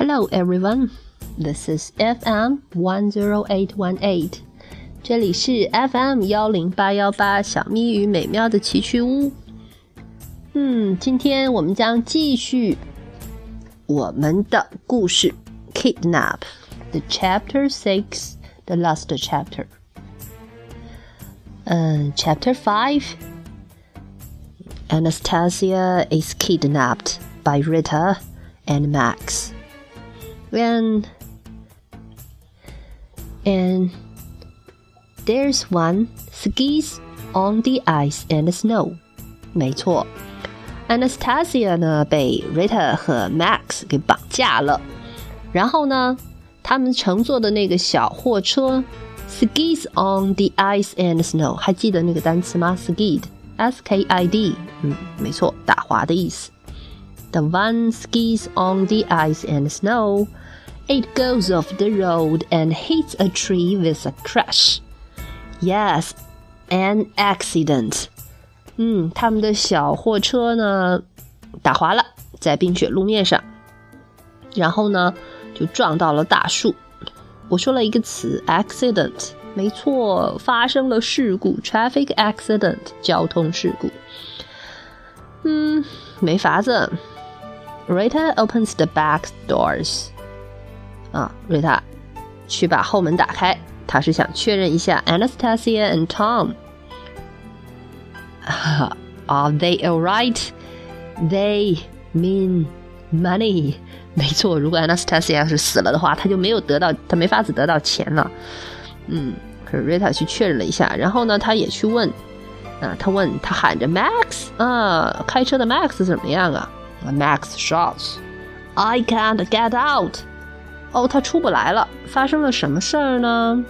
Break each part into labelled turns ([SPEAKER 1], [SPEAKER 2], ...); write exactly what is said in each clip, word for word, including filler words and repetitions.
[SPEAKER 1] Hello everyone, this is F M one oh eight one eight. 这里是 F M 一零八一八小咪与美妙的奇趣屋。嗯，今天我们将继续我们的故事 Kidnap, the chapter six, the last chapter. 嗯 Chapter five, Anastasia is kidnapped by Rita and Max.And, and there's one skis on the ice and snow. 没错 Anastasia 呢被 Rita 和 Max 给绑架了，然后呢他们乘坐的那个小货车 skis on the ice and snow， 还记得那个单词吗？ skid S K I D 嗯，没错，打滑的意思。The one skis on the ice and snow.It goes off the road and hits a tree with a crash. Yes, an accident. 嗯，他们的小货车呢打滑了，在冰雪路面上，然后呢就撞到了大树。我说了一个词 accident， 没错，发生了事故 traffic accident， 交通事故。嗯，没法子。Rita opens the back doors.啊，瑞塔去把后门打开，他是想确认一下 Anastasia and Tom. Are they alright? They mean money. 没错，如果 Anastasia 是死了的话，他就没有得到，他没法子得到钱了。嗯，可是瑞塔去确认了一下，然后呢，他也去问，啊，他问，他喊着 Max 啊，开车的 Max 怎么样啊 ？Max shouts, I can't get out.哦，他出不来了，发生了什么事儿呢？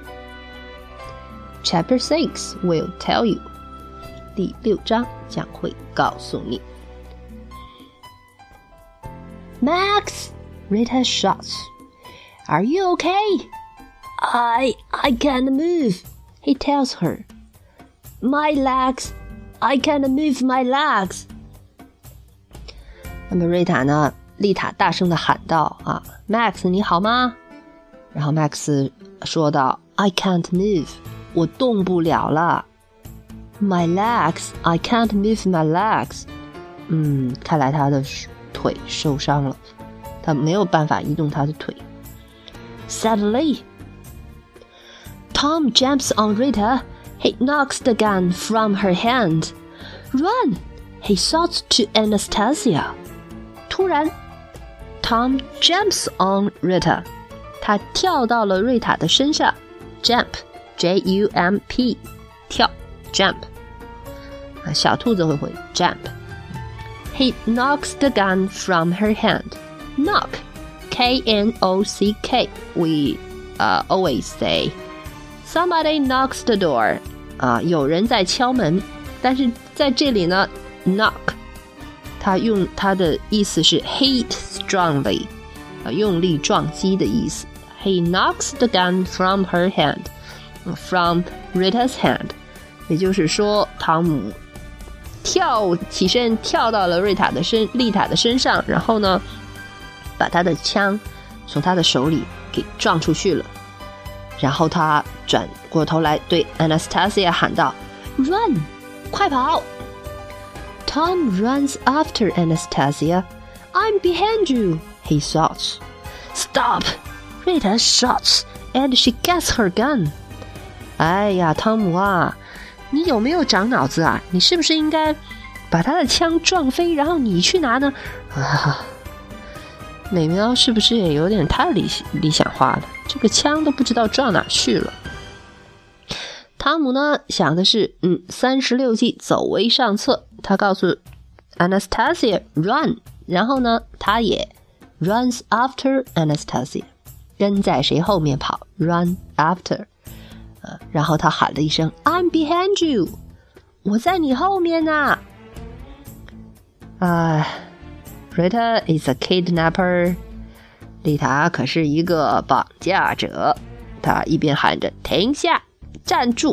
[SPEAKER 1] Chapter six will tell you. 第六章将会告诉你。Max, Rita shouts. Are you okay? I, I can't move, he tells her. My legs, I can't move my legs. 那么瑞塔呢？丽塔大声地喊道啊 Max 你好吗？然后 Max 说道 I can't move 我动不了了 My legs I can't move my legs 嗯，看来他的腿受伤了，他没有办法移动他的腿。 Suddenly Tom jumps on Rita. He knocks the gun from her hand. Run! He shouts to Anastasia. 突然Tom jumps on Rita. 他跳到了瑞塔的身上 Jump J U M P 跳 Jump 小兔子会会 Jump. He knocks the gun from her hand. Knock K N O C K We uh, always say Somebody knocks the door. 啊，有人在敲门，但是在这里呢 Knock他用他的意思是 hit strongly 用力撞击的意思。 He knocks the gun from her hand From Rita's hand 也就是说汤姆跳起身跳到了瑞塔的身丽塔的身上，然后呢把他的枪从他的手里给撞出去了，然后他转过头来对 Anastasia 喊道 Run 快跑Tom runs after Anastasia. I'm behind you, he shouts. Stop! Rita shouts, and she gets her gun. 哎呀，汤姆啊，你有没有长脑子啊？你是不是应该把他的枪撞飞，然后你去拿呢？啊，美喵是不是也有点太理理想化了？这个枪都不知道撞哪去了。汤姆呢想的是嗯，三十六计走为上策，他告诉 Anastasia run， 然后呢他也 runs after Anastasia， 跟在谁后面跑 run after、呃、然后他喊了一声 I'm behind you， 我在你后面啊。啊 Rita is a kidnapper， 丽塔可是一个绑架者，他一边喊着停下站住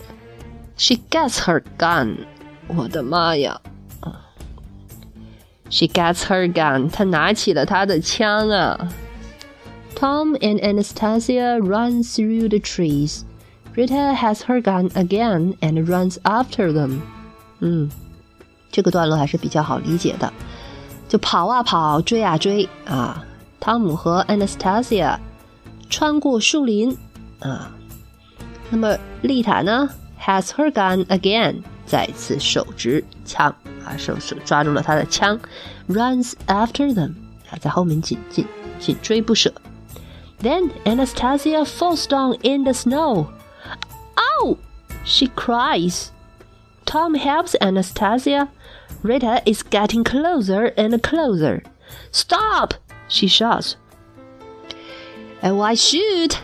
[SPEAKER 1] She gets her gun 我的妈呀 She gets her gun. 她拿起了她的枪啊。Tom and Anastasia run through the trees. Rita has her gun again and runs after them. 嗯，这个段落还是比较好理解的。就跑啊跑，追啊追啊。汤姆和 Anastasia 穿过树林啊。那么丽塔呢 has her gun again. 再次手执枪啊，手手抓住了他的枪 runs after them 啊，在后面紧紧紧追不舍。Then Anastasia falls down in the snow. Ow! She cries. Tom helps Anastasia. Rita is getting closer and closer. Stop! She shouts. And why shoot?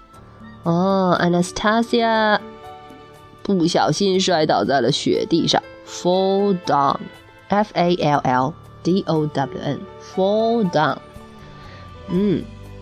[SPEAKER 1] Oh, Anastasia不小心摔倒在了雪地上 fall down F A L L D O W N fall down 嗯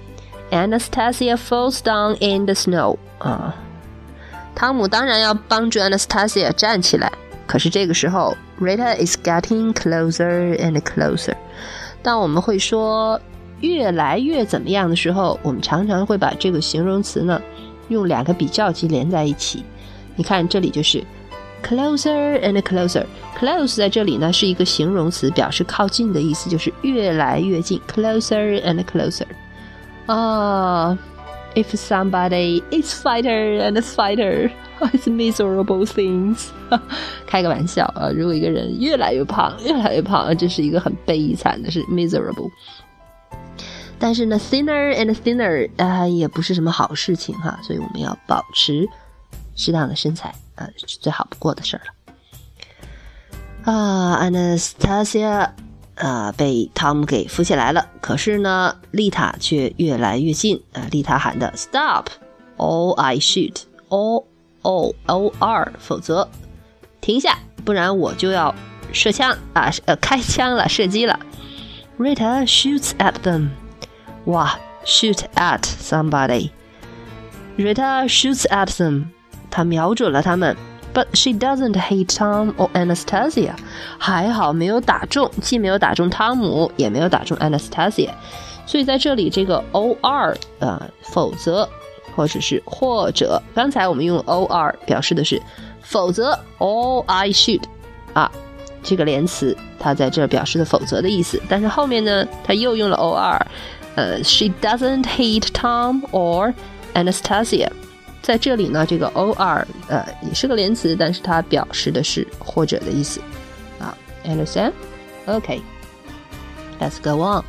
[SPEAKER 1] Anastasia falls down in the snow 啊，汤姆当然要帮助 Anastasia 站起来，可是这个时候 Rita is getting closer and closer。 当我们会说越来越怎么样的时候，我们常常会把这个形容词呢用两个比较级连在一起。你看这里就是 closer and closer. Close 在这里呢是一个形容词，表示靠近的意思，就是越来越近 closer and closer. 啊、uh, If somebody is fighter and a fighter, it's miserable things. 开个玩笑啊，如果一个人越来越胖越来越胖，这是一个很悲惨的，是 miserable。但是呢 thinner and thinner、呃、也不是什么好事情哈，所以我们要保持适当的身材啊，是最好不过的事儿了。啊 ，Anastasia 啊被汤姆给扶起来了，可是呢，丽塔却越来越近啊。丽塔喊的 Stop, or I shoot, or O O R， 否则停下，不然我就要射枪啊，呃，开枪了，射击了。Rita shoots at them. 哇 ，shoot at somebody. Rita shoots at them. 她瞄准了他们 ，but she doesn't hit Tom or Anastasia. 还好没有打中，既没有打中汤姆，也没有打中 Anastasia。所以在这里这个 or 呃，否则或者是或者，刚才我们用 or 表示的是否则 or I shoot 啊，这个连词它在这表示的否则的意思，但是后面呢，它又用了 or， 呃 ，she doesn't hit Tom or Anastasia。在这里呢，这个 or 呃也是个连词，但是它表示的是或者的意思啊 ，understand? Okay, let's go on.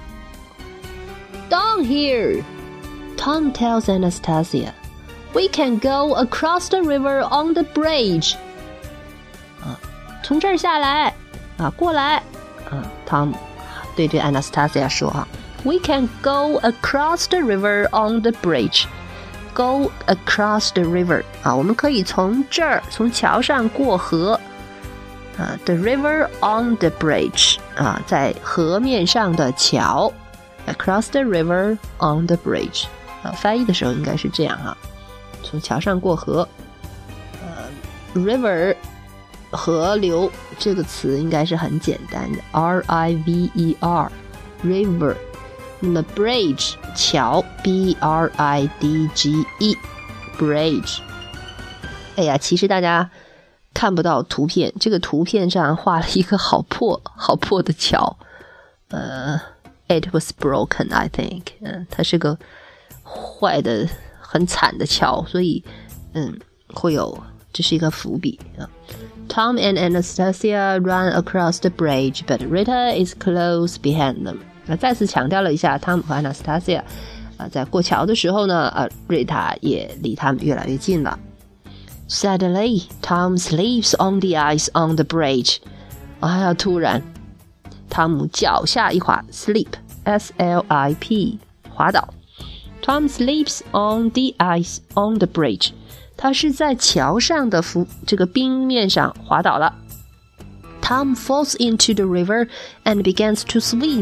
[SPEAKER 1] Down here, Tom tells Anastasia, "We can go across the river on the bridge." 啊，从这儿下来啊，过来啊 ，Tom 对这 Anastasia 说啊 ，We can go across the river on the bridge.Go across the river 啊，我们可以从这儿从桥上过河啊 ，the river on the bridge 啊，在河面上的桥 ，across the river on the bridge 啊，翻译的时候应该是这样哈、啊，从桥上过河。呃 ，river 河流这个词应该是很简单的 ，R I V E R river。那么 bridge 桥 B R I D G E bridge。 哎呀，其实大家看不到图片，这个图片上画了一个好破好破的桥，呃 it was broken I think， 嗯，它是个坏的很惨的桥，所以嗯会有，这是一个伏笔啊。Tom and Anastasia run across the bridge, but Rita is close behind them。那再次强调了一下，汤姆和 Anastasia 啊，在过桥的时候呢，啊，瑞塔也离他们越来越近了。Suddenly, Tom slips on the ice on the bridge. 哎呀，突然，汤姆脚下一滑 ，slip, S L I P, 滑倒。Tom slips on the ice on the bridge. 他是在桥上的浮这个冰面上滑倒了。Tom falls into the river and begins to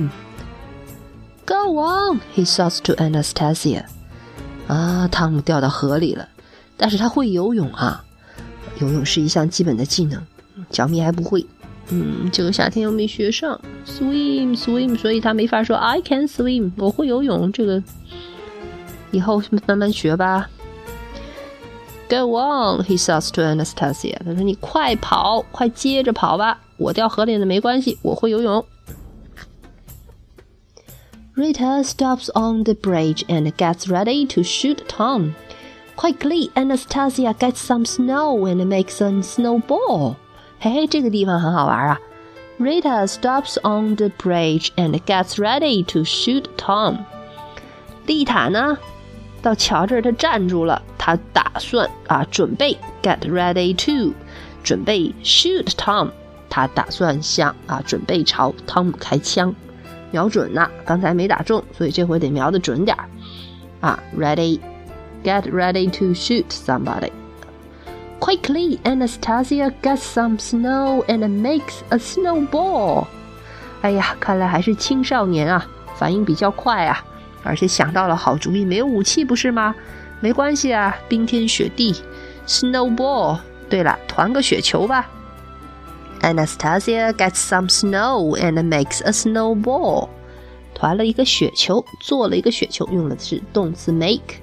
[SPEAKER 1] swim.Go on, he shouts to Anastasia. 啊，汤姆掉到河里了，但是他会游泳啊，游泳是一项基本的技能，小咪还不会。 嗯，这个夏天又没学上 swim swim， 所以他没法说 I can swim， 我会游泳，这个以后慢慢学吧。Go on, he says to Anastasia. 他说你快跑，快接着跑吧，我掉河里了没关系，我会游泳。Rita stops on the bridge and gets ready to shoot Tom. Quickly, Anastasia gets some snow and makes a snowball. 嘿嘿，这个地方很好玩啊。Rita stops on the bridge and gets ready to shoot Tom. 丽塔呢，到桥这儿她站住了，她打算啊，准备 get ready to， 准备 shoot Tom， 她打算向啊，准备朝汤姆开枪，瞄准呐，刚才没打中，所以这回得瞄得准点啊 ，ready。Get ready to shoot somebody. Quickly, Anastasia gets some snow and makes a snowball. 哎呀，看来还是青少年啊，反应比较快啊，而且想到了好主意，没有武器不是吗？没关系啊，冰天雪地 ，snowball。对了，团个雪球吧。Anastasia gets some snow and makes a snowball. 团了一个雪球，做了一个雪球，用的是动词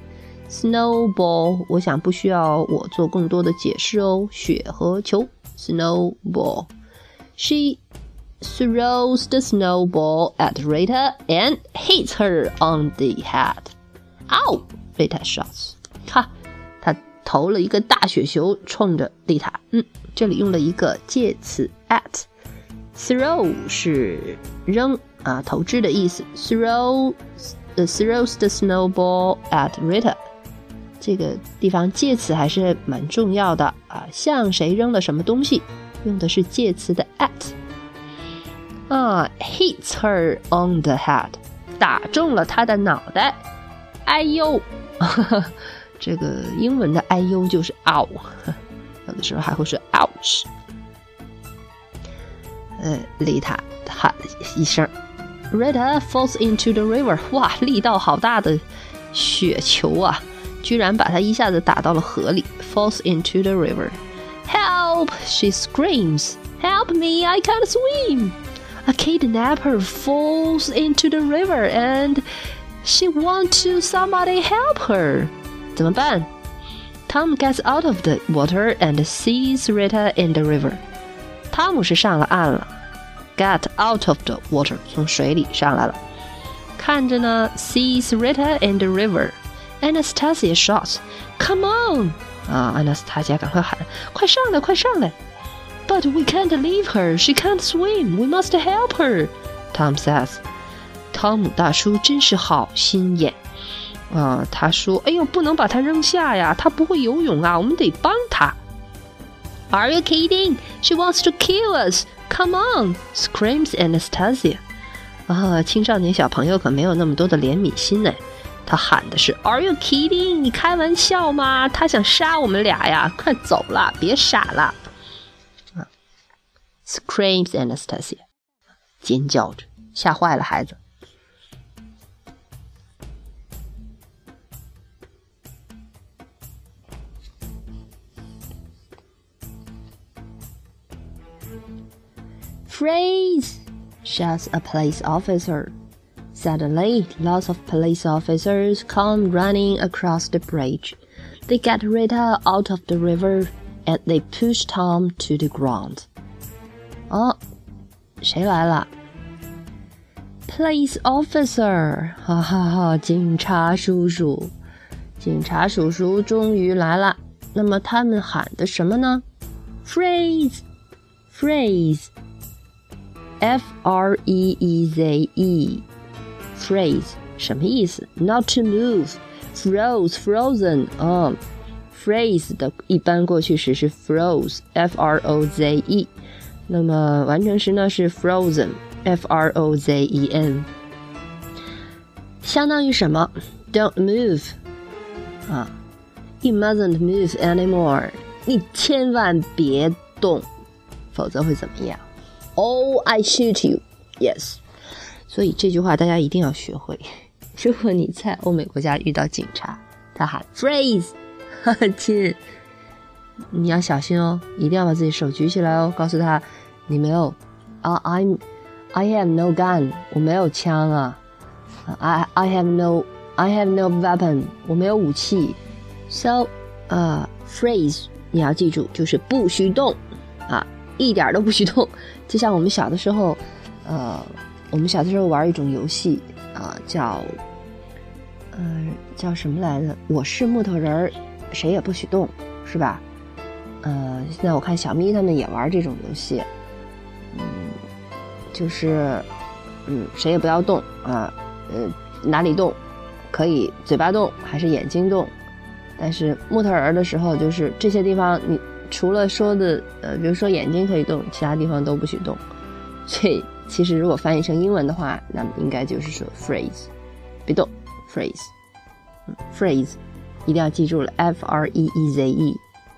[SPEAKER 1] make。Snowball， 我想不需要我做更多的解释哦。雪和球 ，snowball. She throws the snowball at Rita and hits her on the head. Ow! Rita shouts. 哈，她投了一个大雪球，冲着丽塔。嗯，这里用了一个介词 at。Throw 是扔啊，投掷的意思。Throw, uh, throws the snowball at Rita.这个地方介词还是蛮重要的啊，向谁扔了什么东西，用的是介词的 at 啊 ，hits her on the head， 打中了她的脑袋，哎呦，呵呵这个英文的哎呦就是 ow， 有的时候还会说 ouch。呃，丽塔喊了一声 ，Rita falls into the river， 哇，力道好大的雪球啊！居然把他一下子打到了河里 falls into the river. Help! She screams. Help me! I can't swim! A kidnapper falls into the river and she wants to somebody help her. 怎么办？ Tom gets out of the water and sees Rita in the river. 汤姆是上了岸了 get out of the water 从水里上来了，看着呢 sees Rita in the river.Anastasia shouts, "Come on!" 啊 ，Anastasia 赶快喊，快上来，快上来 ！But we can't leave her. She can't swim. We must help her. Tom says. 汤姆大叔真是好心眼啊！他说：“哎呦，不能把她扔下呀，她不会游泳啊，我们得帮她。” Are you kidding? She wants to kill us. Come on! Screams Anastasia. 啊，青少年小朋友可没有那么多的怜悯心呢。他喊的是 Are you kidding? 你开玩笑吗？他想杀我们俩呀！快走了，别傻了！啊 Screams Anastasia， 尖叫着，吓坏了孩子。Freeze! Shouts a police officer.Suddenly, lots of police officers come running across the bridge. They get Rita out of the river and they push Tom to the ground. 哦，谁来了 ？Police officer， 哈哈哈，警察叔叔，警察叔叔终于来了。那么他们喊的什么呢 ？Freeze, freeze.F R E E Z E，freeze 什么意思 ？Not to move, froze, frozen 哦 ，freeze 的一般过去时是 froze，F R O Z E， 那么完成时呢是 frozen，F R O Z E N， 相当于什么 ？Don't move 啊 ，You mustn't move anymore， 你千万别动，否则会怎么样？Oh, I shoot you. Yes. 所以这句话大家一定要学会。如果你在欧美国家遇到警察，他喊 freeze， 亲，你要小心哦，一定要把自己手举起来哦，告诉他你没有啊、uh, I'm I have no gun， 我没有枪啊。I I have no I have no weapon， 我没有武器。So， 呃、uh, ，phrase 你要记住，就是不许动啊，一点都不许动。就像我们小的时候，呃，我们小的时候玩一种游戏啊、呃，叫呃叫什么来着？我是木头人儿，谁也不许动，是吧？呃，现在我看小咪他们也玩这种游戏，嗯，就是嗯，谁也不要动啊。呃，哪里动可以嘴巴动还是眼睛动，但是木头人的时候就是这些地方你除了说的呃比如说眼睛可以动，其他地方都不许动。所以其实如果翻译成英文的话，那么应该就是说 phrase 别动 phrase、嗯、phrase 一定要记住了 F R E E Z E。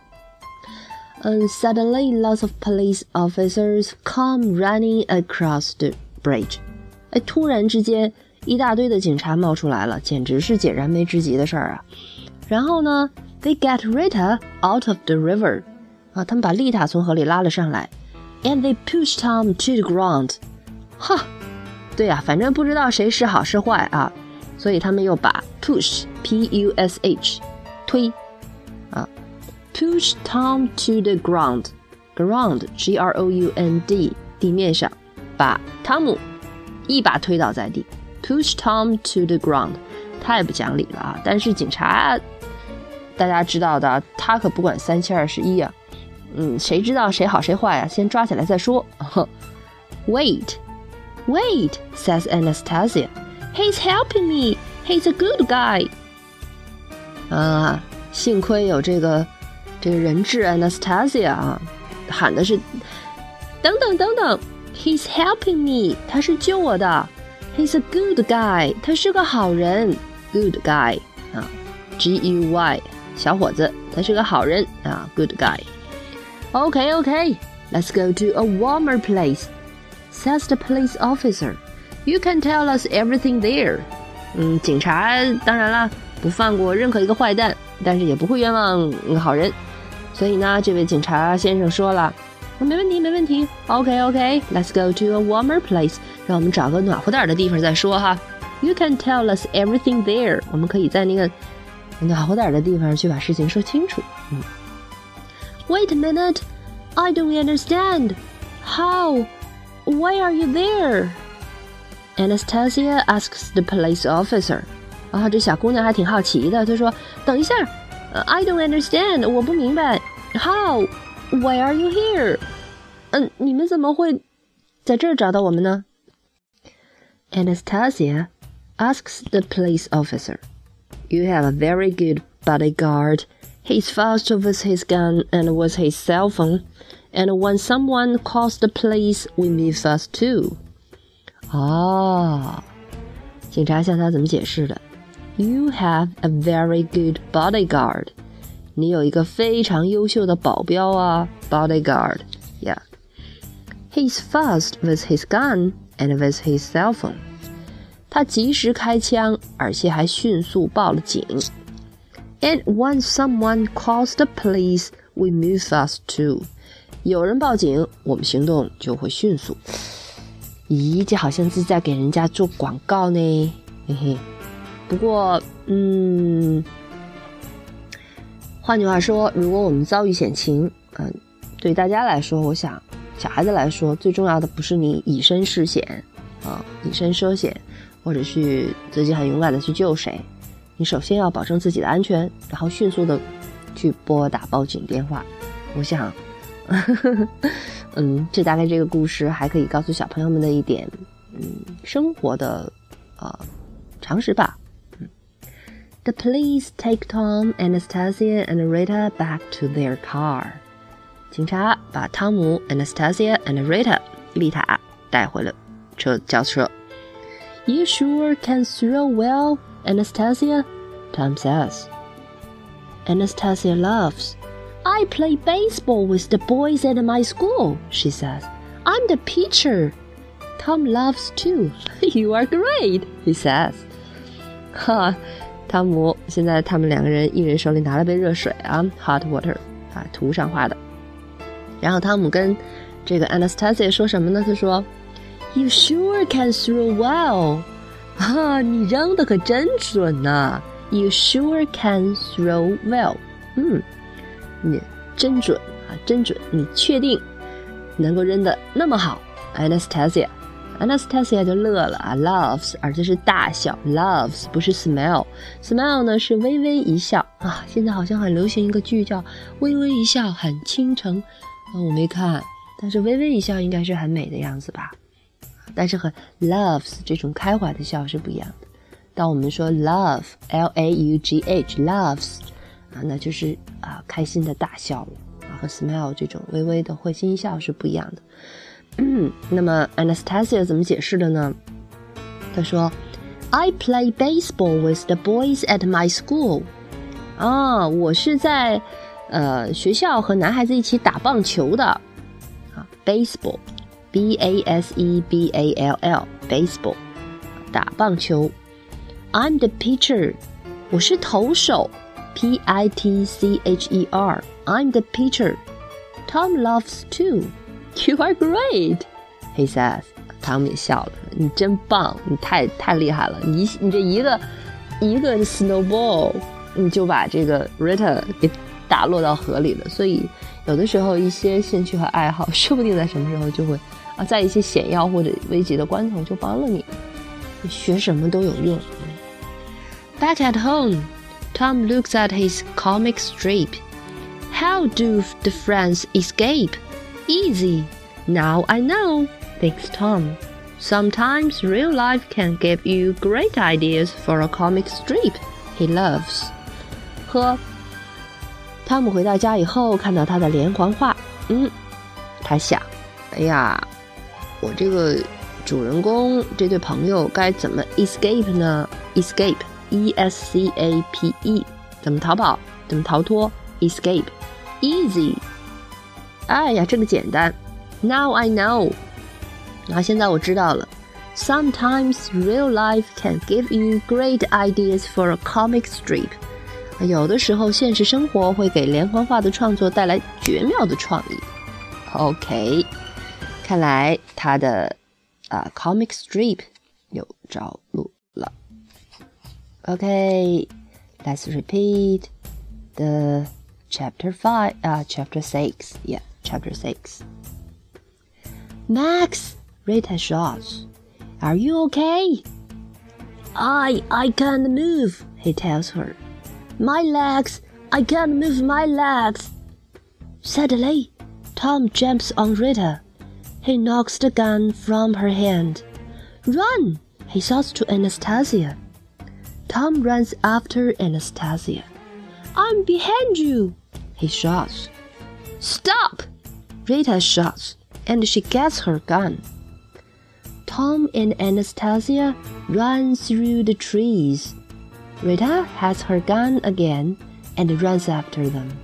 [SPEAKER 1] And suddenly lots of police officers come running across the bridge。 哎，突然之间一大堆的警察冒出来了，简直是解燃眉之急的事儿啊！然后呢 ，they get Rita out of the river， 啊，他们把丽塔从河里拉了上来 ，and they push Tom to the ground。哈，对呀、啊，反正不知道谁是好是坏啊，所以他们又把 push P U S H 推啊 ，push Tom to the ground， ground G R O U N D 地面上，把汤姆一把推倒在地。Push Tom to the ground， 太不讲理了啊！但是警察，大家知道的，他可不管三七二十一啊。嗯，谁知道谁好谁坏啊？先抓起来再说。Wait, wait, says Anastasia. He's helping me. He's a good guy. 啊，幸亏有这个这个人质 Anastasia 啊，喊的是等等等等 ，He's helping me. 他是救我的。He's a good guy， 他是个好人 ，good guy 啊 ，G U Y 小伙子，他是个好人啊 ，good guy。Okay, okay, let's go to a warmer place, says the police officer. You can tell us everything there. 嗯，警察当然啦，不放过任何一个坏蛋，但是也不会冤枉好人。所以呢，这位警察先生说了。没问题，没问题。OK OK, let's go to a warmer place. 让我们找个暖和点的地方再说哈。You can tell us everything there. 我们可以在那个暖和点的地方去把事情说清楚。嗯。Wait a minute, I don't understand. How? Why are you there? Anastasia asks the police officer. 啊，这小姑娘还挺好奇的，她说：“等一下 ，I don't understand. 我不明白。How?Why are you here? 嗯，你们怎么会在这儿找到我们呢？ Anastasia asks the police officer. You have a very good bodyguard. He's fast with his gun and with his cell phone. And when someone calls the police, we move fast too. 哦，警察向他怎么解释的？ You have a very good bodyguard.你有一个非常优秀的保镖啊 bodyguard yeah he's fast with his gun and with his cell phone 他及时开枪而且还迅速报了警 and when someone calls the police we move fast too 有人报警我们行动就会迅速咦这好像是在给人家做广告呢嘿嘿不过嗯换句话说，如果我们遭遇险情，嗯、呃，对大家来说，我想小孩子来说，最重要的不是你以身试险啊、呃，以身涉险，或者去自己很勇敢的去救谁，你首先要保证自己的安全，然后迅速的去拨打报警电话。我想，呵呵嗯，这大概这个故事还可以告诉小朋友们的一点，嗯，生活的呃常识吧。The police take Tom, Anastasia, and Rita back to their car. 警察把汤姆、Anastasia and Rita 丽塔带回了车轿车。You sure can throw well, Anastasia? Tom says. Anastasia laughs. I play baseball with the boys at my school, she says. I'm the pitcher. Tom laughs too. You are great, he says. 哈。汤姆现在他们两个人一人手里拿了杯热水啊 hot water 啊涂上画的然后汤姆跟这个 Anastasia 说什么呢？她说 You sure can throw well 啊，你扔的可真准啊 You sure can throw well 嗯，你真准啊，真准，你确定能够扔的那么好 Anastasia Anastasia 就乐了啊 laughs 而这是大笑 loves 不是 smile smile 呢是微微一笑啊，现在好像很流行一个剧叫微微一笑很倾城、啊、我没看，但是微微一笑应该是很美的样子吧，但是和 loves 这种开怀的笑是不一样的。当我们说 love L A U G H loves 啊，那就是啊开心的大笑了啊，和 smile 这种微微的会心一笑是不一样的。嗯，那么 Anastasia 怎么解释的呢？她说 I play baseball with the boys at my school 啊，我是在呃学校和男孩子一起打棒球的啊 baseball B A S E B A L L baseball 打棒球 I'm the pitcher 我是投手 P I T C H E R I'm the pitcher Tom loves too You are great, he says. 汤姆也笑了，你真棒，你太太厉害了，你你这一个一个 snowball， 你就把这个 Rita 给打落到河里了。所以有的时候一些兴趣和爱好，说不定在什么时候就会啊，在一些险要或者危急的关头就帮了你。你学什么都有用。Back at home, Tom looks at his comic strip. How do the friends escape?Easy. Now I know, thinks Tom. Sometimes real life can give you great ideas for a comic strip he loves. 呵，汤姆回到家以后，看到他的连环画，嗯，他想，哎呀，我这个主人公这对朋友该怎么 escape 呢 ？escape, E S C A P E， 怎么逃跑？怎么逃脱 ？escape, easy.哎呀，这个简单 Now I know 啊，现在我知道了 Sometimes real life can give you great ideas for a comic strip 有的时候现实生活会给连环画的创作带来绝妙的创意 OK 看来他的、uh, comic strip 有着陆了 OK Let's repeat the chapter five, uh, chapter six Yeah.Chapter six. Max, Rita shouts. Are you okay? I, I can't move, he tells her. My legs, I can't move my legs. Suddenly, Tom jumps on Rita. He knocks the gun from her hand. Run, he shouts to Anastasia. Tom runs after Anastasia. I'm behind you, he shouts. Stop! Rita shouts, and she gets her gun. Tom and Anastasia run through the trees. Rita has her gun again and runs after them.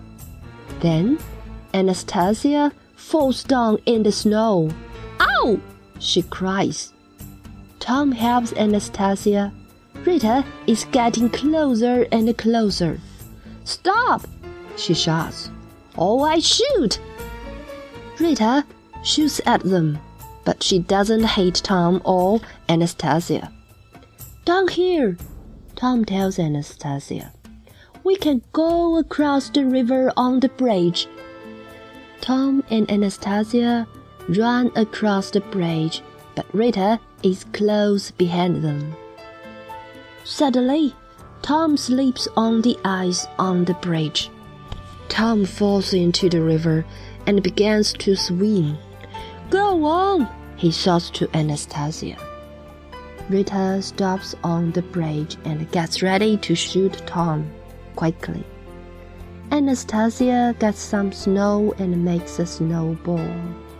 [SPEAKER 1] Then Anastasia falls down in the snow. Ow! She cries. Tom helps Anastasia. Rita is getting closer and closer. Stop! She shouts. Oh, I shoot! Rita shoots at them, but she doesn't hit Tom or Anastasia. Down here, Tom tells Anastasia. We can go across the river on the bridge. Tom and Anastasia run across the bridge, but Rita is close behind them. Suddenly, Tom slips on the ice on the bridge. Tom falls into the river and begins to swim. Go on, he shouts to Anastasia. Rita stops on the bridge and gets ready to shoot Tom quickly. Anastasia gets some snow and makes a snowball.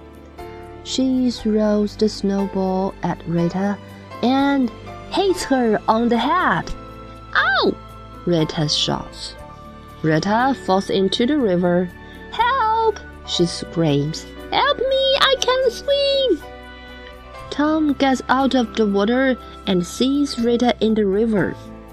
[SPEAKER 1] She throws the snowball at Rita and hits her on the head. Ow! Rita shouts. Rita falls into the river. Help! She screams. Help me! I can't swim! Tom gets out of the water and sees Rita in the river.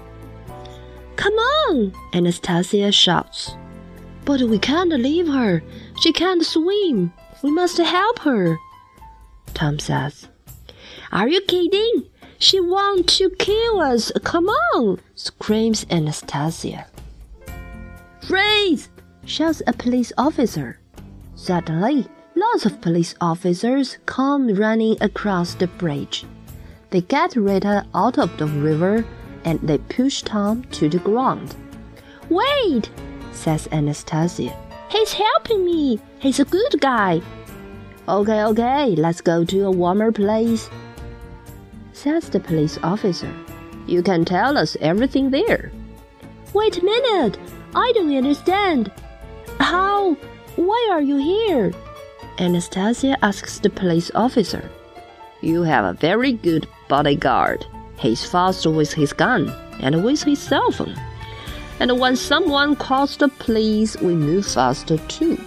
[SPEAKER 1] Come on! Anastasia shouts. But we can't leave her. She can't swim. We must help her, Tom says. Are you kidding? She wants to kill us. Come on, screams Anastasia. Freeze! Shouts a police officer. Suddenly, lots of police officers come running across the bridge. They get Rita out of the river and they push Tom to the ground. Wait, says Anastasia. He's helping me. He's a good guy. Okay, okay, let's go to a warmer place, says the police officer. You can tell us everything there. Wait a minute, I don't understand. How? Why are you here? Anastasia asks the police officer. You have a very good bodyguard. He's fast with his gun and with his cell phone. And when someone calls the police, we move faster too.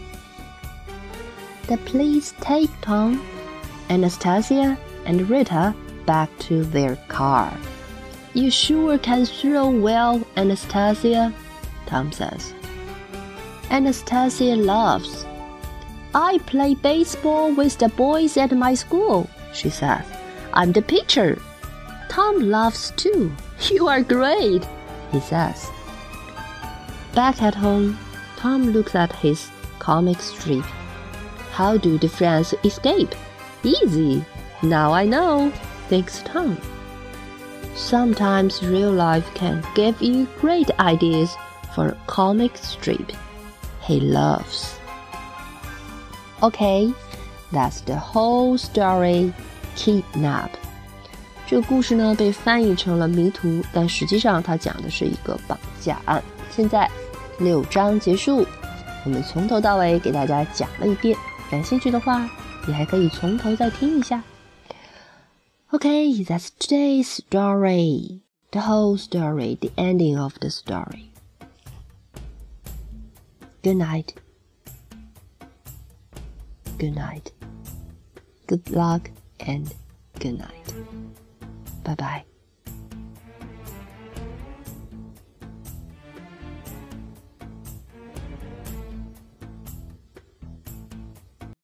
[SPEAKER 1] The police take Tom, Anastasia, and Rita back to their car. You sure can throw well, Anastasia, Tom says. Anastasia laughs. I play baseball with the boys at my school, she says. I'm the pitcher. Tom laughs too. You are great, he says. Back at home, Tom looks at his comic strip. How do the friends escape? Easy. Now I know, thinks Tom. Sometimes real life can give you great ideas for a comic strip he loves. Okay, that's the whole story. Kidnap. 这个故事呢被翻译成了迷途，但实际上它讲的是一个绑架案。现在六章结束，我们从头到尾给大家讲了一遍。感兴趣的话，你还可以从头再听一下。Okay, that's today's story. The whole story, the ending of the story. Good night. Good night. Good luck and good night. Bye bye.